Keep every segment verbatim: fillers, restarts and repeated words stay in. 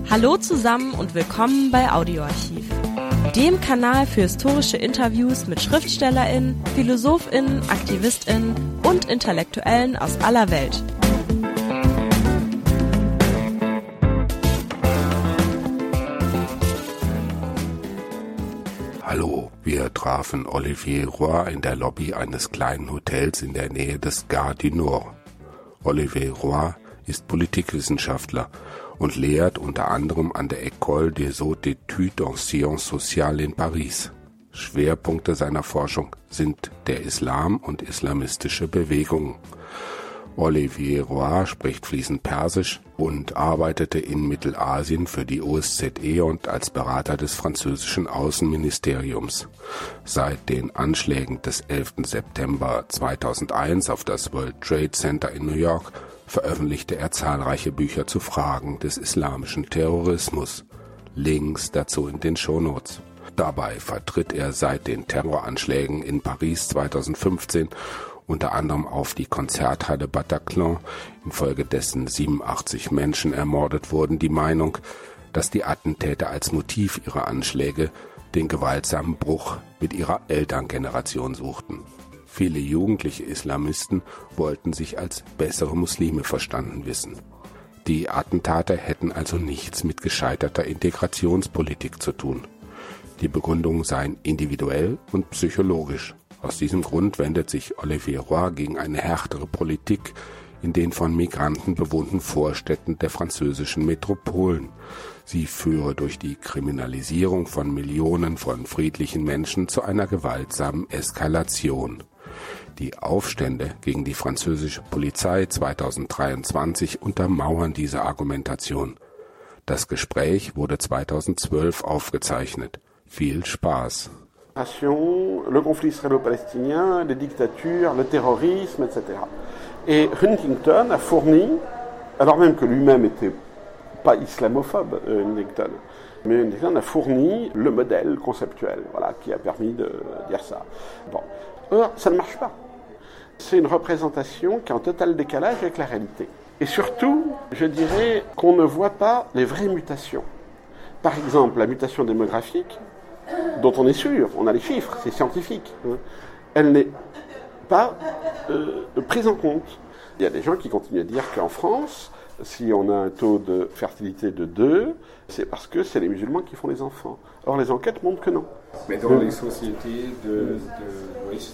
Hallo zusammen und willkommen bei Audioarchiv, dem Kanal für historische Interviews mit SchriftstellerInnen, PhilosophInnen, AktivistInnen und Intellektuellen aus aller Welt. Hallo, wir trafen Olivier Roy in der Lobby eines kleinen Hotels in der Nähe des Gare du Nord. Olivier Roy ist Politikwissenschaftler und lehrt unter anderem an der École des Hautes Études en Sciences Sociales in Paris. Schwerpunkte seiner Forschung sind der Islam und islamistische Bewegungen. Olivier Roy spricht fließend Persisch und arbeitete in Mittelasien für die O S Z E und als Berater des französischen Außenministeriums. Seit den Anschlägen des elften September zweitausendeins auf das World Trade Center in New York veröffentlichte er zahlreiche Bücher zu Fragen des islamischen Terrorismus. Links dazu in den Shownotes. Dabei vertritt er seit den Terroranschlägen in Paris zweitausendfünfzehn unter anderem auf die Konzerthalle Bataclan, infolgedessen siebenundachtzig Menschen ermordet wurden, die Meinung, dass die Attentäter als Motiv ihrer Anschläge den gewaltsamen Bruch mit ihrer Elterngeneration suchten. Viele jugendliche Islamisten wollten sich als bessere Muslime verstanden wissen. Die Attentate hätten also nichts mit gescheiterter Integrationspolitik zu tun. Die Begründungen seien individuell und psychologisch. Aus diesem Grund wendet sich Olivier Roy gegen eine härtere Politik in den von Migranten bewohnten Vorstädten der französischen Metropolen. Sie führe durch die Kriminalisierung von Millionen von friedlichen Menschen zu einer gewaltsamen Eskalation. Die Aufstände gegen die französische Polizei zweitausenddreiundzwanzig untermauern diese Argumentation. Das Gespräch wurde zweitausendzwölf aufgezeichnet. Viel Spaß. Le conflit israélo-palestinien, les dictatures, le terrorisme, et cetera. Et Huntington a fourni, alors même que lui-même n'était pas islamophobe, euh, Huntington, mais Huntington a fourni le modèle conceptuel, voilà, qui a permis de dire ça. Bon. Or, ça ne marche pas. C'est une représentation qui est en total décalage avec la réalité. Et surtout, je dirais qu'on ne voit pas les vraies mutations. Par exemple, la mutation démographique, dont on est sûr, on a les chiffres, c'est scientifique, hein, elle n'est pas euh, prise en compte. Il y a des gens qui continuent à dire qu'en France, si on a un taux de fertilité de deux, c'est parce que c'est les musulmans qui font les enfants. Or, les enquêtes montrent que non. Mais dans les sociétés de, de l'Ouest,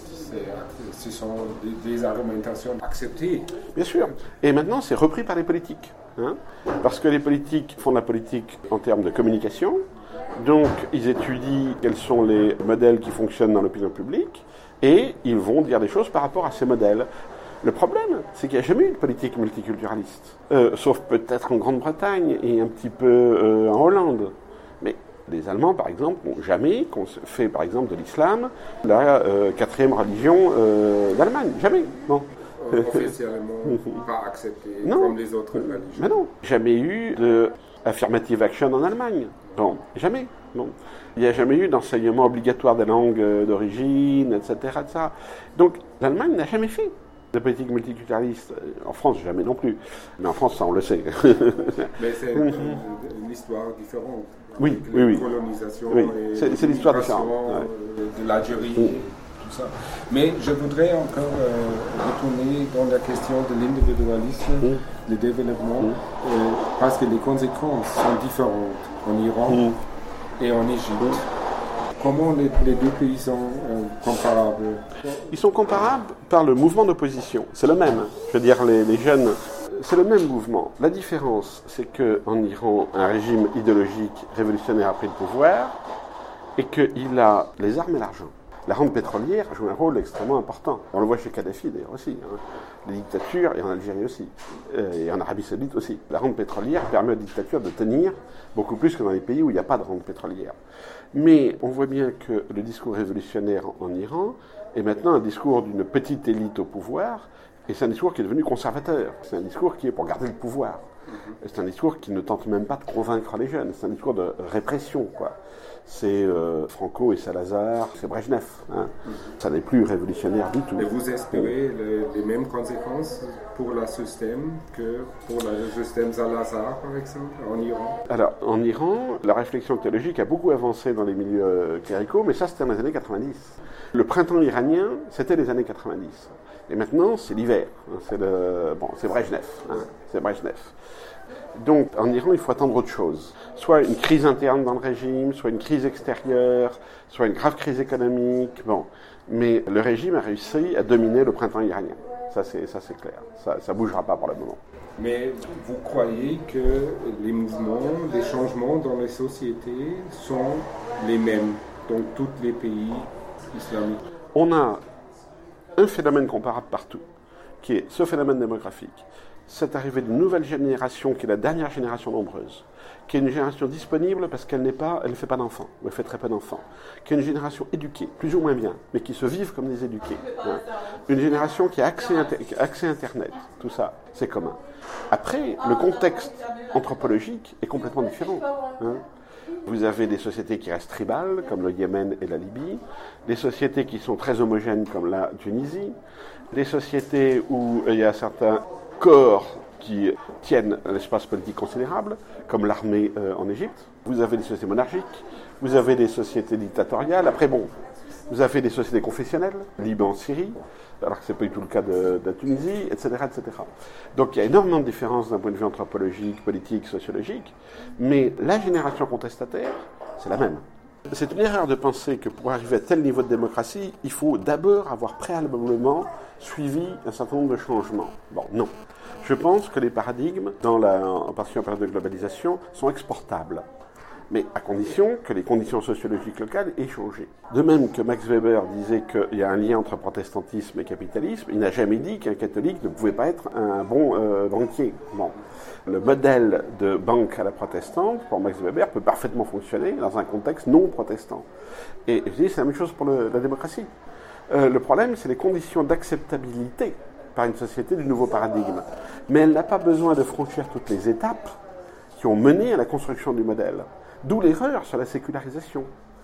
ce sont des, des argumentations acceptées. Bien sûr. Et maintenant, c'est repris par les politiques. Hein, parce que les politiques font de la politique en termes de communication. Donc, ils étudient quels sont les modèles qui fonctionnent dans l'opinion publique et ils vont dire des choses par rapport à ces modèles. Le problème, c'est qu'il n'y a jamais eu de politique multiculturaliste, euh, sauf peut-être en Grande-Bretagne et un petit peu euh, en Hollande. Mais les Allemands, par exemple, n'ont jamais fait, par exemple, de l'islam la euh, quatrième religion euh, d'Allemagne. Jamais, non. Officiellement pas accepté non. Comme les autres religions. Mais non, jamais eu de affirmative action en Allemagne. Bon, jamais. Bon. Il n'y a jamais eu d'enseignement obligatoire des langues d'origine, et cetera, et cetera. Donc, l'Allemagne n'a jamais fait de politique multiculturaliste. En France, jamais non plus. Mais en France, ça, on le sait. Mais c'est une, une histoire différente. Oui, oui, oui. Colonisation oui. Et c'est, c'est l'histoire différente. Ouais. De l'Algérie. Oui. Ça. Mais je voudrais encore euh, retourner dans la question de l'individualisme, mmh. le développement, mmh. euh, parce que les conséquences sont différentes en Iran mmh. et en Égypte. Mmh. Comment les, les deux pays sont euh, comparables? Ils sont comparables par le mouvement d'opposition. C'est le même. Je veux dire, les, les jeunes, c'est le même mouvement. La différence, c'est qu'en Iran, un régime idéologique révolutionnaire a pris le pouvoir et qu'il a les armes et l'argent. La rente pétrolière joue un rôle extrêmement important. On le voit chez Kadhafi d'ailleurs aussi. Hein. Les dictatures, et en Algérie aussi, euh, et en Arabie Saoudite aussi. La rente pétrolière permet aux dictatures de tenir beaucoup plus que dans les pays où il n'y a pas de rente pétrolière. Mais on voit bien que le discours révolutionnaire en Iran est maintenant un discours d'une petite élite au pouvoir Et c'est un discours qui est devenu conservateur. C'est un discours qui est pour garder le pouvoir. Et c'est un discours qui ne tente même pas de convaincre les jeunes. C'est un discours de répression, quoi. C'est euh, Franco et Salazar, c'est Brejnev. Hein. Ça n'est plus révolutionnaire du tout. Et vous espérez le, les mêmes conséquences pour le système que pour le système Salazar, par exemple, en Iran? Alors, en Iran, la réflexion théologique a beaucoup avancé dans les milieux cléricaux, mais ça, c'était dans les années quatre-vingt-dix. Le printemps iranien, c'était les années quatre-vingt-dix. Et maintenant, c'est l'hiver. C'est le, bon, c'est Brejnev. Hein, c'est Brejnev. Donc, en Iran, il faut attendre autre chose. Soit une crise interne dans le régime, soit une crise extérieure, soit une grave crise économique. Bon, mais le régime a réussi à dominer le printemps iranien. Ça, c'est, ça, c'est clair. Ça ne bougera pas pour le moment. Mais vous croyez que les mouvements, les changements dans les sociétés sont les mêmes dans tous les pays islamiques? On a un phénomène comparable partout, qui est ce phénomène démographique. Cette arrivée d'une nouvelle génération, qui est la dernière génération nombreuse, qui est une génération disponible parce qu'elle n'est pas, elle ne fait pas d'enfants, ou elle fait très peu d'enfants, qui est une génération éduquée, plus ou moins bien, mais qui se vivent comme des éduqués. Hein. Une génération qui a accès, qui a accès à Internet, tout ça, c'est commun. Après, le contexte anthropologique est complètement différent. Hein. Vous avez des sociétés qui restent tribales, comme le Yémen et la Libye, des sociétés qui sont très homogènes, comme la Tunisie, des sociétés où il y a certains corps qui tiennent un espace politique considérable, comme l'armée euh, en Égypte. Vous avez des sociétés monarchiques, vous avez des sociétés dictatoriales. Après, bon, vous avez des sociétés confessionnelles, Liban, Syrie, alors que ce n'est pas du tout le cas de, de la Tunisie, et cetera, et cetera. Donc il y a énormément de différences d'un point de vue anthropologique, politique, sociologique, mais la génération contestataire, c'est la même. C'est une erreur de penser que pour arriver à tel niveau de démocratie, il faut d'abord avoir préalablement suivi un certain nombre de changements. Bon, non. Je pense que les paradigmes, dans la, en particulier en période de globalisation, sont exportables. Mais à condition que les conditions sociologiques locales aient changé. De même que Max Weber disait qu'il y a un lien entre protestantisme et capitalisme, il n'a jamais dit qu'un catholique ne pouvait pas être un bon euh, banquier. Bon. Le modèle de banque à la protestante, pour Max Weber, peut parfaitement fonctionner dans un contexte non protestant. Et je dis, c'est la même chose pour le, la démocratie. Euh, le problème, c'est les conditions d'acceptabilité par une société du nouveau paradigme. Mais elle n'a pas besoin de franchir toutes les étapes qui ont mené à la construction du modèle. D'où l'erreur sur la sécularisation.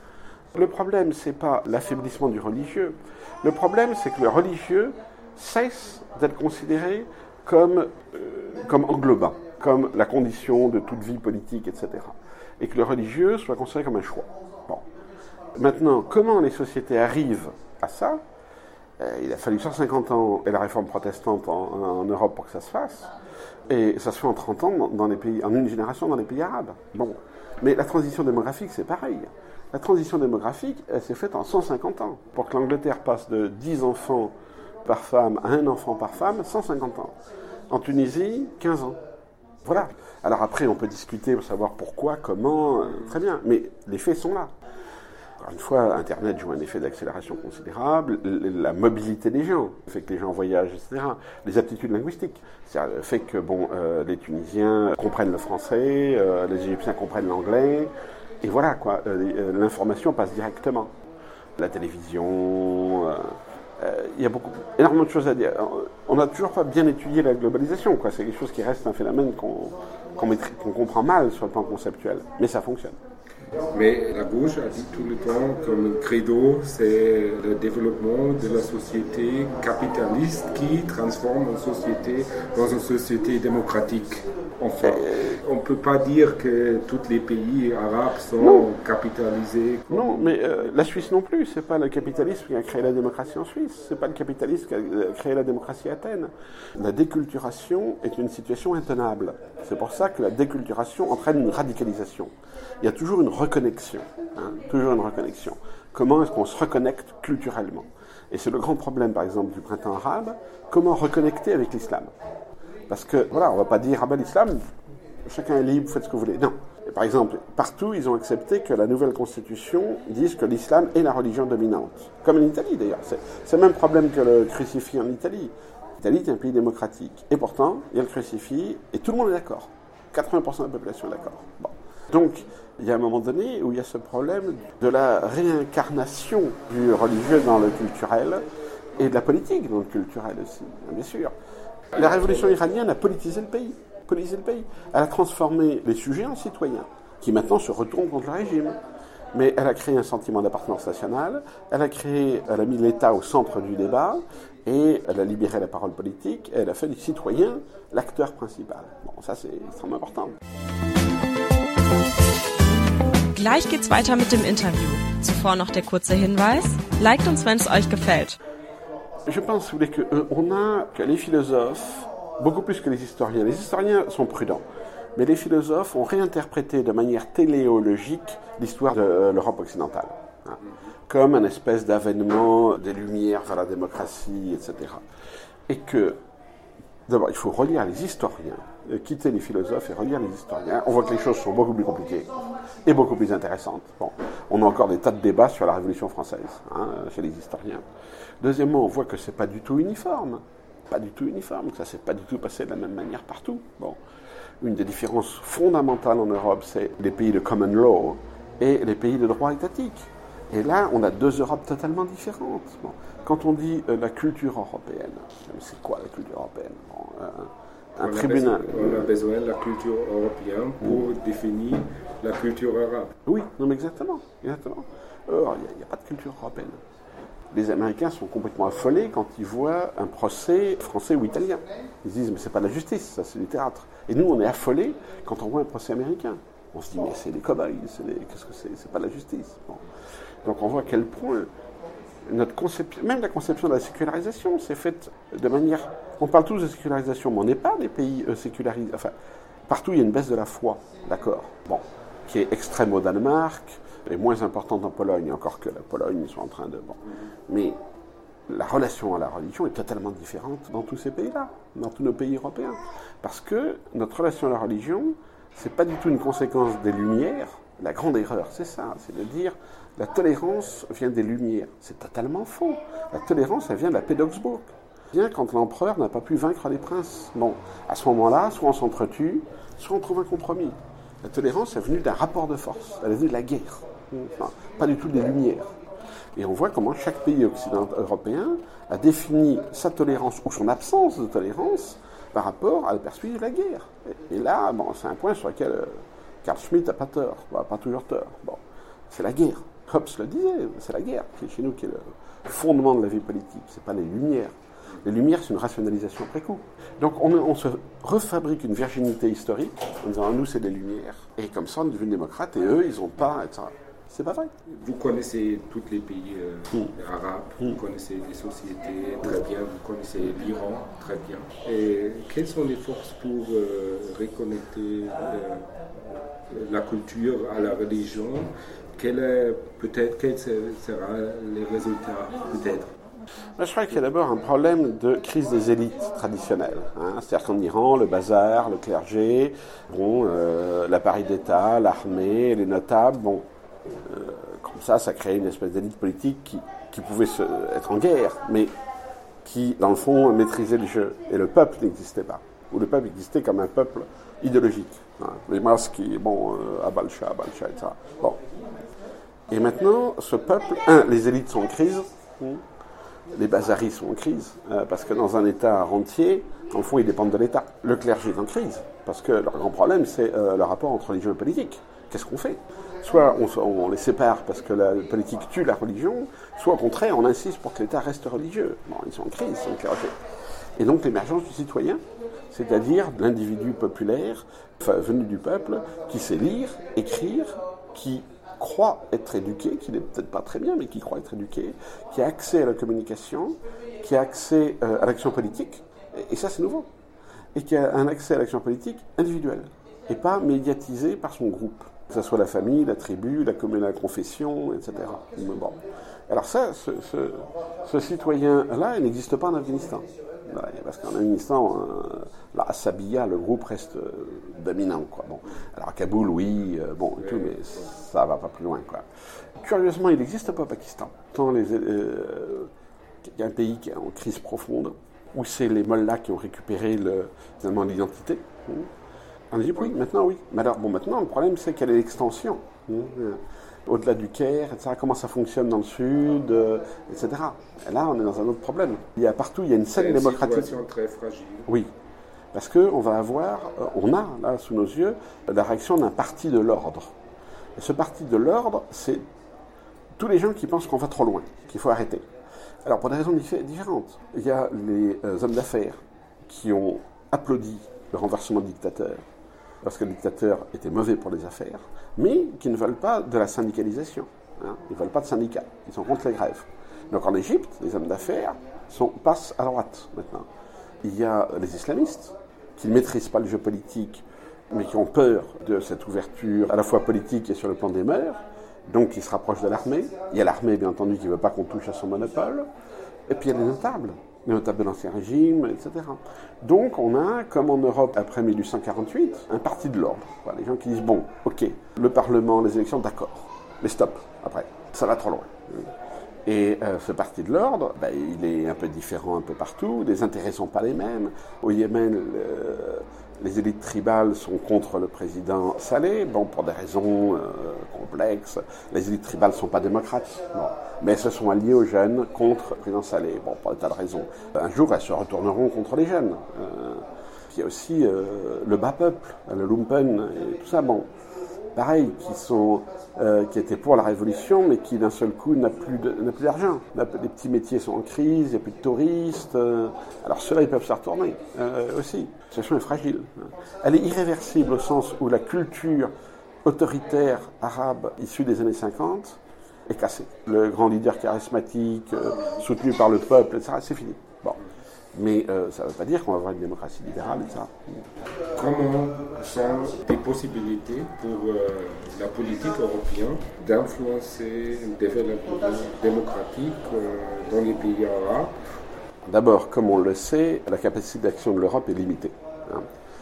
Le problème, c'est pas l'affaiblissement du religieux. Le problème, c'est que le religieux cesse d'être considéré comme, euh, comme englobant, comme la condition de toute vie politique, et cetera. Et que le religieux soit considéré comme un choix. Bon. Maintenant, comment les sociétés arrivent à ça ? euh, Il a fallu cent cinquante ans et la réforme protestante en, en Europe pour que ça se fasse. Et ça se fait en trente ans dans, dans les pays, en une génération dans les pays arabes. Bon. Mais la transition démographique, c'est pareil. La transition démographique, elle s'est faite en cent cinquante ans. Pour que l'Angleterre passe de dix enfants par femme à un enfant par femme, cent cinquante ans. En Tunisie, quinze ans. Voilà. Alors après, on peut discuter pour savoir pourquoi, comment, euh, très bien. Mais les faits sont là. Encore une fois, Internet joue un effet d'accélération considérable, la mobilité des gens, le fait que les gens voyagent, et cetera. Les aptitudes linguistiques, c'est-à-dire le fait que bon, euh, les Tunisiens comprennent le français, euh, les Égyptiens comprennent l'anglais, et voilà quoi, euh, l'information passe directement. La télévision, euh, euh, il y a beaucoup, énormément de choses à dire. On n'a toujours pas bien étudié la globalisation, quoi. C'est quelque chose qui reste un phénomène qu'on, qu'on, maîtrise, qu'on comprend mal sur le plan conceptuel, mais ça fonctionne. Mais la gauche a dit tout le temps comme credo, c'est le développement de la société capitaliste qui transforme une société dans une société démocratique. Enfin, on ne peut pas dire que tous les pays arabes sont non. capitalisés. Comme... Non, mais euh, la Suisse non plus. C'est pas le capitalisme qui a créé la démocratie en Suisse. C'est pas le capitalisme qui a créé la démocratie à Athènes. La déculturation est une situation intenable. C'est pour ça que la déculturation entraîne une radicalisation. Il y a toujours une reconnexion. Hein, toujours une reconnexion. Comment est-ce qu'on se reconnecte culturellement ? Et c'est le grand problème, par exemple, du printemps arabe. Comment reconnecter avec l'islam ? Parce que, voilà, on ne va pas dire, ah ben l'islam, chacun est libre, faites ce que vous voulez. Non. Et par exemple, partout, ils ont accepté que la nouvelle constitution dise que l'islam est la religion dominante. Comme en Italie, d'ailleurs. C'est, c'est le même problème que le crucifix en Italie. L'Italie est un pays démocratique. Et pourtant, il y a le crucifix, et tout le monde est d'accord. quatre-vingts pour cent de la population est d'accord. Bon. Donc, il y a un moment donné où il y a ce problème de la réincarnation du religieux dans le culturel, et de la politique dans le culturel aussi, bien sûr. La révolution iranienne a politisé le pays, politisé le pays. Elle a transformé les sujets en citoyens, qui maintenant se retournent contre le régime. Mais elle a créé un sentiment d'appartenance nationale, elle a créé, elle a mis l'État au centre du débat, et elle a libéré la parole politique, et elle a fait du citoyen l'acteur principal. Bon, ça c'est extrêmement important. Gleich geht's weiter mit dem Interview. Zuvor noch der kurze Hinweis: Liked uns, wenn es euch gefällt. Je pense, vous voulez, qu'on a que les philosophes, beaucoup plus que les historiens. Les historiens sont prudents, mais les philosophes ont réinterprété de manière téléologique l'histoire de l'Europe occidentale, hein, comme un espèce d'avènement des Lumières vers la démocratie, et cetera. Et que, d'abord, il faut relire les historiens, quitter les philosophes et relire les historiens. On voit que les choses sont beaucoup plus compliquées et beaucoup plus intéressantes. Bon, on a encore des tas de débats sur la Révolution française, hein, chez les historiens. Deuxièmement, on voit que c'est pas du tout uniforme, pas du tout uniforme, que ça s'est pas du tout passé de la même manière partout. Bon, une des différences fondamentales en Europe, c'est les pays de common law et les pays de droit étatique. Et là, on a deux Europes totalement différentes. Bon, quand on dit euh, la culture européenne, c'est quoi la culture européenne? Bon, euh, un on tribunal. A besoin, on a besoin de la culture européenne pour mmh. définir la culture arabe. Oui, non mais exactement, exactement. Or, il n'y a, a pas de culture européenne. Les Américains sont complètement affolés quand ils voient un procès français ou italien. Ils se disent, mais c'est pas de la justice, ça c'est du théâtre. Et nous, on est affolés quand on voit un procès américain. On se dit, mais c'est des cow-boys, c'est des... qu'est-ce que c'est? C'est pas de la justice. Bon. Donc on voit à quel point notre conception, même la conception de la sécularisation, s'est faite de manière... On parle tous de sécularisation, mais on n'est pas des pays euh, sécularisés. Enfin, partout, il y a une baisse de la foi, d'accord, bon, qui est extrême au Danemark, et moins importante en Pologne, encore que la Pologne, ils sont en train de... Bon. Mais la relation à la religion est totalement différente dans tous ces pays-là, dans tous nos pays européens. Parce que notre relation à la religion, c'est pas du tout une conséquence des Lumières. La grande erreur, c'est ça, c'est de dire la tolérance vient des Lumières. C'est totalement faux. La tolérance, elle vient de la paix d'Augsbourg. Bien quand l'empereur n'a pas pu vaincre les princes. Bon, à ce moment-là, soit on s'entretue, soit on trouve un compromis. La tolérance est venue d'un rapport de force, elle est venue de la guerre, enfin, pas du tout des Lumières. Et on voit comment chaque pays occidental européen a défini sa tolérance ou son absence de tolérance par rapport à la perspective de la guerre. Et, et là, bon, c'est un point sur lequel euh, Carl Schmitt n'a pas tort, bah, pas toujours tort. Bon, c'est la guerre. Hobbes le disait, c'est la guerre qui est chez nous qui est le fondement de la vie politique, c'est pas les Lumières. Les Lumières, c'est une rationalisation après coup. Donc on, on se refabrique une virginité historique en disant nous c'est des Lumières et comme ça on est devenu démocrate et eux ils n'ont pas, et cetera. C'est pas vrai. Vous connaissez tous les pays euh, mmh. arabes, mmh. vous connaissez les sociétés très bien, vous connaissez l'Iran très bien. Et quelles sont les forces pour euh, reconnecter euh, la culture à la religion? Quel est, peut-être, quels seront les résultats peut-être? Je crois qu'il y a d'abord un problème de crise des élites traditionnelles. Hein. C'est-à-dire qu'en Iran, le bazar, le clergé, bon, euh, l'appareil d'État, l'armée, les notables, bon, euh, comme ça, ça crée une espèce d'élite politique qui, qui pouvait se, être en guerre, mais qui, dans le fond, maîtrisait le jeu. Et le peuple n'existait pas. Ou le peuple existait comme un peuple idéologique. Hein. Les masses qui, bon, euh, Abalcha, Abalcha, et cetera. Bon. Et maintenant, ce peuple, un, les élites sont en crise, hein. Les bazaris sont en crise, euh, parce que dans un État rentier, en fond, ils dépendent de l'État. Le clergé est en crise, parce que leur grand problème, c'est euh, le rapport entre religion et politique. Qu'est-ce qu'on fait? Soit on, on les sépare parce que la politique tue la religion, soit au contraire, on insiste pour que l'État reste religieux. Bon, ils sont en crise, ils sont clergés. Et donc l'émergence du citoyen, c'est-à-dire de l'individu populaire, enfin, venu du peuple, qui sait lire, écrire, qui croit être éduqué, qui n'est peut-être pas très bien, mais qui croit être éduqué, qui a accès à la communication, qui a accès euh, à l'action politique, et, et ça c'est nouveau, et qui a un accès à l'action politique individuelle, et pas médiatisé par son groupe, que ce soit la famille, la tribu, la commune, la confession, et cetera. Bon. Alors ça, ce, ce, ce citoyen-là, il n'existe pas en Afghanistan. Parce qu'en Afghanistan, euh, la Assabiya, le groupe reste euh, dominant, quoi. Bon. Alors à Kaboul, oui, euh, bon, et tout, mais ça va pas plus loin, quoi. Curieusement, il n'existe pas au Pakistan. Tant les, euh, il y a un pays qui est en crise profonde, où c'est les mollahs qui ont récupéré le, finalement l'identité. En Égypte, oui, maintenant, oui. Mais alors, bon, maintenant, le problème, c'est quelle est l'extension. au-delà du Caire, et cetera, comment ça fonctionne dans le Sud, euh, et cetera. Et là, on est dans un autre problème. Il y a partout, il y a une scène une démocratique. Une situation très fragile. Oui, parce qu'on va avoir, on a là sous nos yeux, la réaction d'un parti de l'ordre. Et ce parti de l'ordre, c'est tous les gens qui pensent qu'on va trop loin, qu'il faut arrêter. Alors pour des raisons différentes. Il y a les euh, hommes d'affaires qui ont applaudi le renversement du dictateur, parce que le dictateur était mauvais pour les affaires, mais qui ne veulent pas de la syndicalisation. Hein. Ils ne veulent pas de syndicats, ils sont contre les grèves. Donc en Égypte, les hommes d'affaires sont, passent à droite maintenant. Il y a les islamistes qui ne maîtrisent pas le jeu politique, mais qui ont peur de cette ouverture à la fois politique et sur le plan des mœurs, donc qui se rapprochent de l'armée. Il y a l'armée, bien entendu, qui ne veut pas qu'on touche à son monopole. Et puis il y a les notables, les notables de l'Ancien Régime, et cetera. Donc on a, comme en Europe après mille huit cent quarante-huit, un parti de l'ordre. Voilà, les gens qui disent, bon, ok, le Parlement, les élections, d'accord, mais stop, après, ça va trop loin. Et euh, ce parti de l'ordre, ben, il est un peu différent un peu partout, les intérêts ne sont pas les mêmes. Au Yémen, le, les élites tribales sont contre le président Saleh, bon, pour des raisons euh, complexes. Les élites tribales ne sont pas démocrates, bon, mais elles se sont alliées aux jeunes contre le président Saleh, bon, pour des tas de raisons. Un jour, elles se retourneront contre les jeunes. Euh, il y a aussi euh, le bas peuple, le lumpen et tout ça, bon. Pareil, qui sont, euh, qui étaient pour la révolution, mais qui d'un seul coup n'a plus de, n'a plus d'argent. Les petits métiers sont en crise, il n'y a plus de touristes. Euh, alors ceux-là, ils peuvent se retourner euh, aussi. La situation est fragile. Elle est irréversible au sens où la culture autoritaire arabe issue des années cinquante est cassée. Le grand leader charismatique, euh, soutenu par le peuple, et cetera, c'est fini. Bon. Mais euh, ça ne veut pas dire qu'on va avoir une démocratie libérale, et cetera. Comment sont des possibilités pour euh, la politique européenne d'influencer le développement démocratique euh, dans les pays arabes? D'abord, comme on le sait, la capacité d'action de l'Europe est limitée. Hein.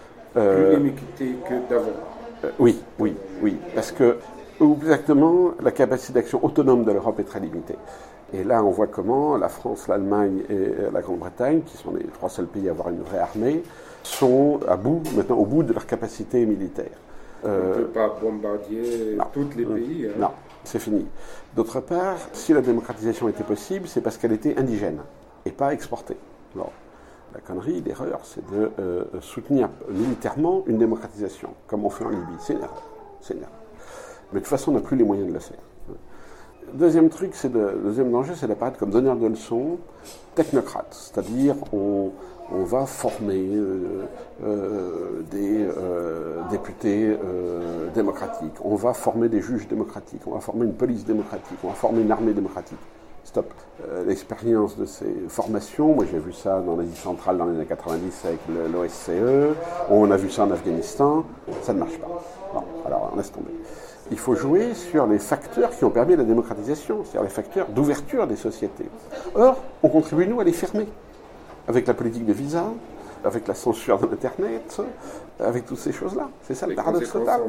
Euh, Plus limitée que d'avant. Euh, oui, oui, oui. Parce que, ou plus exactement, la capacité d'action autonome de l'Europe est très limitée. Et là, on voit comment la France, l'Allemagne et la Grande-Bretagne, qui sont les trois seuls pays à avoir une vraie armée, sont à bout, maintenant au bout de leur capacité militaire. Euh, on ne peut pas bombarder tous les pays. Hein. Non, c'est fini. D'autre part, si la démocratisation était possible, c'est parce qu'elle était indigène et pas exportée. Alors, la connerie, l'erreur, c'est de euh, soutenir militairement une démocratisation, comme on fait en Libye. C'est une erreur. C'est une erreur. Mais de toute façon, on n'a plus les moyens de le faire. Deuxième truc, c'est de, deuxième danger, c'est d'apparaître comme donneur de leçons technocrate, c'est-à-dire on, on va former euh, euh, des euh, députés euh, démocratiques, on va former des juges démocratiques, on va former une police démocratique, on va former une armée démocratique. Stop. Euh, l'expérience de ces formations, moi j'ai vu ça dans l'Asie centrale dans les années quatre-vingt-dix avec l'O S C E, on a vu ça en Afghanistan, ça ne marche pas. Bon, alors on laisse tomber. Il faut jouer sur les facteurs qui ont permis la démocratisation, c'est-à-dire les facteurs d'ouverture des sociétés. Or, on contribue, nous, à les fermer, avec la politique de visa, avec la censure de l'Internet, avec toutes ces choses-là. C'est ça le paradoxe total.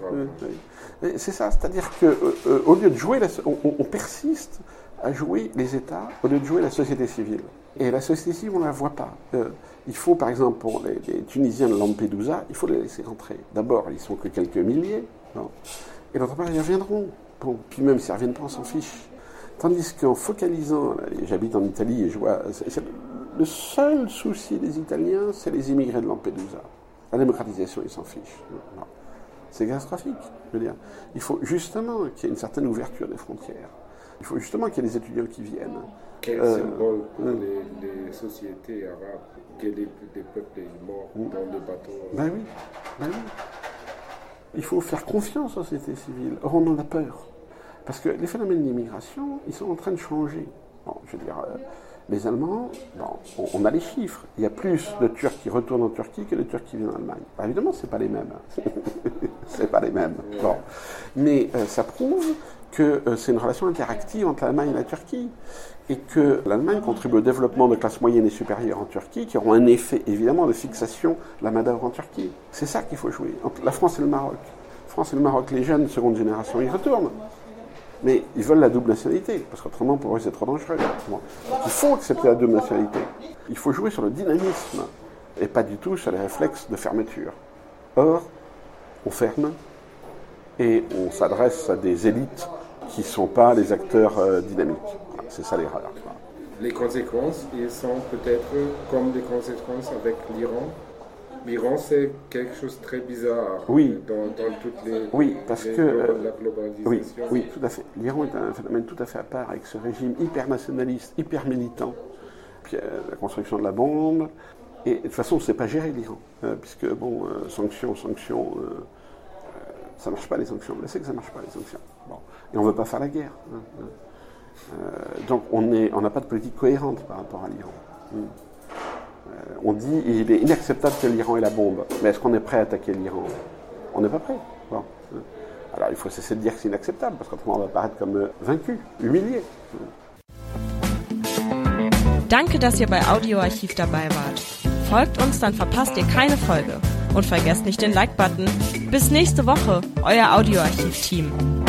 C'est ça, c'est-à-dire qu'au euh, lieu de jouer, la, on, on persiste à jouer les États au lieu de jouer la société civile. Et la société civile, on ne la voit pas. Euh, il faut, par exemple, pour les, les Tunisiens de Lampedusa, il faut les laisser rentrer. D'abord, ils ne sont que quelques milliers, non. Et d'autre part, ils reviendront. Bon, puis même s'ils ne reviennent pas, on s'en fiche. Tandis qu'en focalisant, j'habite en Italie et je vois, c'est, c'est, le seul souci des Italiens, c'est les immigrés de Lampedusa. La démocratisation, ils s'en fichent. Non. C'est catastrophique, je veux dire. Il faut justement qu'il y ait une certaine ouverture des frontières. Il faut justement qu'il y ait des étudiants qui viennent. Quel euh, symbole pour euh, les, les sociétés arabes que des, des peuples morts euh, dans les bateaux? Ben oui, ben oui. Il faut faire confiance aux sociétés civiles. Or, on en a peur. Parce que les phénomènes d'immigration, ils sont en train de changer. Bon, je veux dire, euh, les Allemands, bon, on, on a les chiffres. Il y a plus de Turcs qui retournent en Turquie que de Turcs qui viennent en Allemagne. Alors, évidemment, c'est pas les mêmes. c'est pas les mêmes. Bon. Mais euh, ça prouve que euh, c'est une relation interactive entre l'Allemagne et la Turquie. Et que l'Allemagne contribue au développement de classes moyennes et supérieures en Turquie, qui auront un effet, évidemment, de fixation de la main-d'œuvre en Turquie. C'est ça qu'il faut jouer, entre la France et le Maroc. La France et le Maroc, les jeunes, seconde génération, ils retournent. Mais ils veulent la double nationalité, parce qu'autrement, pour eux, c'est trop dangereux. Bon. Il faut accepter la double nationalité. Il faut jouer sur le dynamisme, et pas du tout sur les réflexes de fermeture. Or, on ferme, et on s'adresse à des élites qui ne sont pas les acteurs euh, dynamiques. Voilà, c'est ça l'erreur. Voilà. Les conséquences, ils sont peut-être comme les conséquences avec l'Iran. L'Iran, c'est quelque chose de très bizarre oui. dans, dans toutes les, oui, parce les que, euh, la globalisation. Oui, oui, tout à fait. L'Iran est un phénomène tout à fait à part avec ce régime hyper nationaliste, hyper militant. Puis euh, la construction de la bombe. Et de toute façon, c'est pas géré l'Iran, euh, puisque bon, euh, sanctions, sanctions, euh, euh, ça marche pas les sanctions. On le sait que ça marche pas les sanctions. Bon. Et on veut pas faire la guerre. Hein, hein. Euh, donc on est, on n'a pas de politique cohérente par rapport à l'Iran. Hum. Euh, on dit il est inacceptable que l'Iran ait la bombe, mais est-ce qu'on est prêt à attaquer l'Iran? On n'est pas prêt. Bon. Alors il faut cesser de dire que c'est inacceptable, parce qu'autrement on va paraître comme euh, vaincu, humilié. Danke, dass ihr bei Audioarchiv dabei wart. Folgt uns, dann verpasst ihr keine Folge. Und vergesst nicht den Like-Button. Bis nächste Woche, euer Audioarchiv-Team.